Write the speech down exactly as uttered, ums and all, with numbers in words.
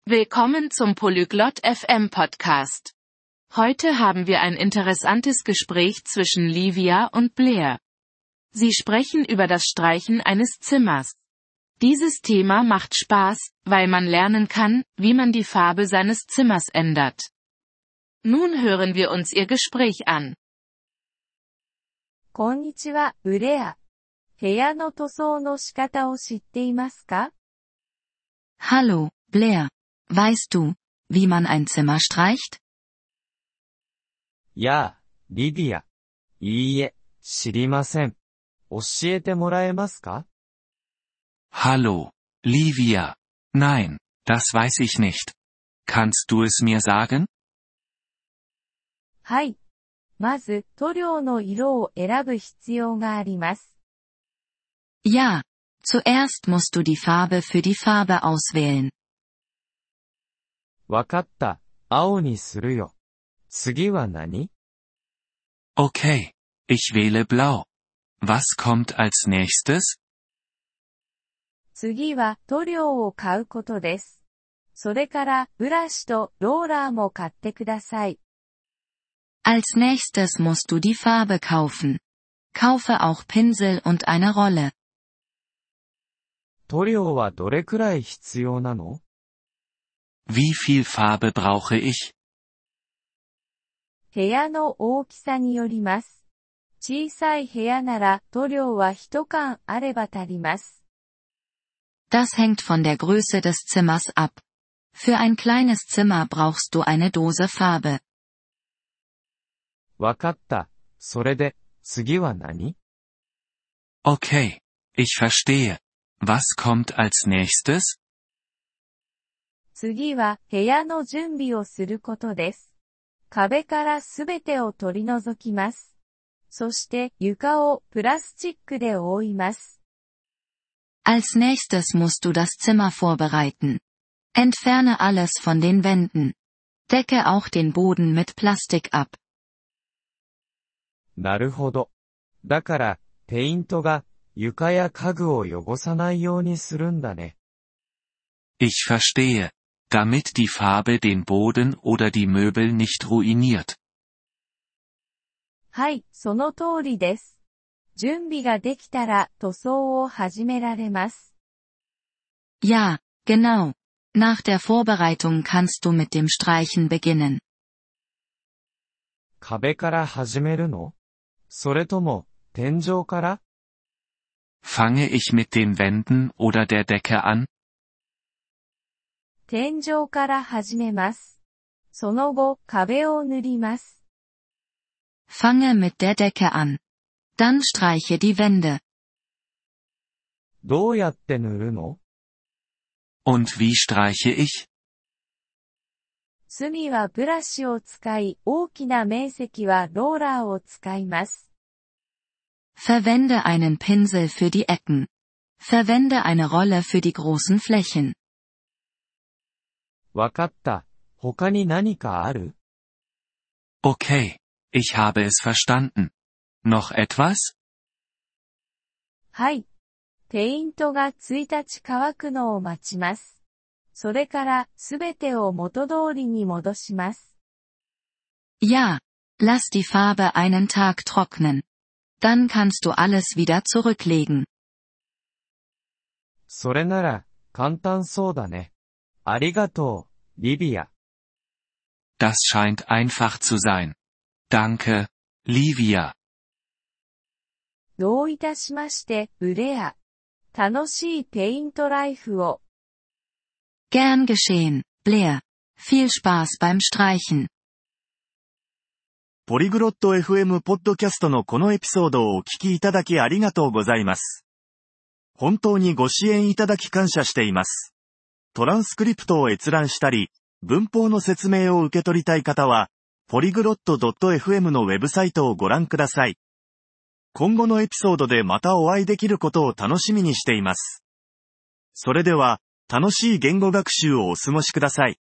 Willkommen zum Polyglot F M Podcast. Heute haben wir ein interessantes Gespräch zwischen Livia und Blair. Sie sprechen über das Streichen eines Zimmers. Dieses Thema macht Spaß, weil man lernen kann, wie man die Farbe seines Zimmers ändert. Nun hören wir uns ihr Gespräch an. こんにちは、ブレア。部屋の塗装の仕方を知っていますか？ Hallo, Blair. Weißt du, wie man ein Zimmer streicht? やあ、リディア。いいえ、知りません。教えてもらえますか？ Hallo, Livia. Nein, das weiß ich nicht. Kannst du es mir sagen? はい。まず、塗料の色を選ぶ必要があります。 Ja, zuerst musst du die Farbe für die Farbe auswählen. わかった。青にするよ。次は何？ Okay, ich wähle blau. Was kommt als nächstes? 次は塗料を買うことです。それから、ブラシとローラーも買ってください。 Als nächstes musst du die Farbe kaufen. Kaufe auch Pinsel und eine Rolle. 塗料はどれくらい必要なの？ Wie viel Farbe brauche ich? 部屋の大きさによります。小さい部屋なら塗料は一缶あれば足ります。 Das hängt von der Größe des Zimmers ab. Für ein kleines Zimmer brauchst du eine Dose Farbe. わかった。それで、次は何？ Okay, ich verstehe. Was kommt als nächstes? 次は部屋の準備をすることです。壁からすべてを取り除きます。そして床をプラスチックで覆います。 Als nächstes musst du das Zimmer vorbereiten. Entferne alles von den Wänden. Decke auch den Boden mit Plastik ab. なるほど。だから、ペイントが床や家具を汚さないようにするんだね。 Ich verstehe. Damit die Farbe den Boden oder die Möbel nicht ruiniert. はい、その通りです。準備ができたら塗装を始められます。 Ja, genau. Nach der Vorbereitung kannst du mit dem Streichen beginnen. 壁から始めるの？それとも、天井から？ Fange ich mit den Wänden oder der Decke an? 天井から始めます。その後、壁を塗ります。 Fange mit der Decke an. Dann streiche die Wände. どうやって塗るの？ Und wie streiche ich? 隅はブラシを使い、大きな面積はローラーを使います。 Verwende einen Pinsel für die Ecken. Verwende eine Rolle für die großen Flächen. わかった。他に何かある？ Okay, ich habe es verstanden. Noch etwas? はい。ペイントがいちにち乾くのを待ちます。それからすべてを元通りに戻します。 Ja, lass die Farbe einen Tag trocknen. Dann kannst du alles wieder zurücklegen. それなら、簡単そうだね。ありがとう、リビア。 Das scheint einfach zu sein. Danke, Livia. どういたしまして、ブレア。楽しいペイントライフを。 Gern geschehen, Blair. Viel Spaß beim Streichen. ポリグロット エフエム ポッドキャストのこのエピソードをお聞きいただきありがとうございます。本当にご支援いただき感謝しています。トランスクリプトを閲覧したり、文法の説明を受け取りたい方は、ポリグロット ドット エフエム のウェブサイトをご覧ください。今後のエピソードでまたお会いできることを楽しみにしています。それでは、楽しい言語学習をお過ごしください。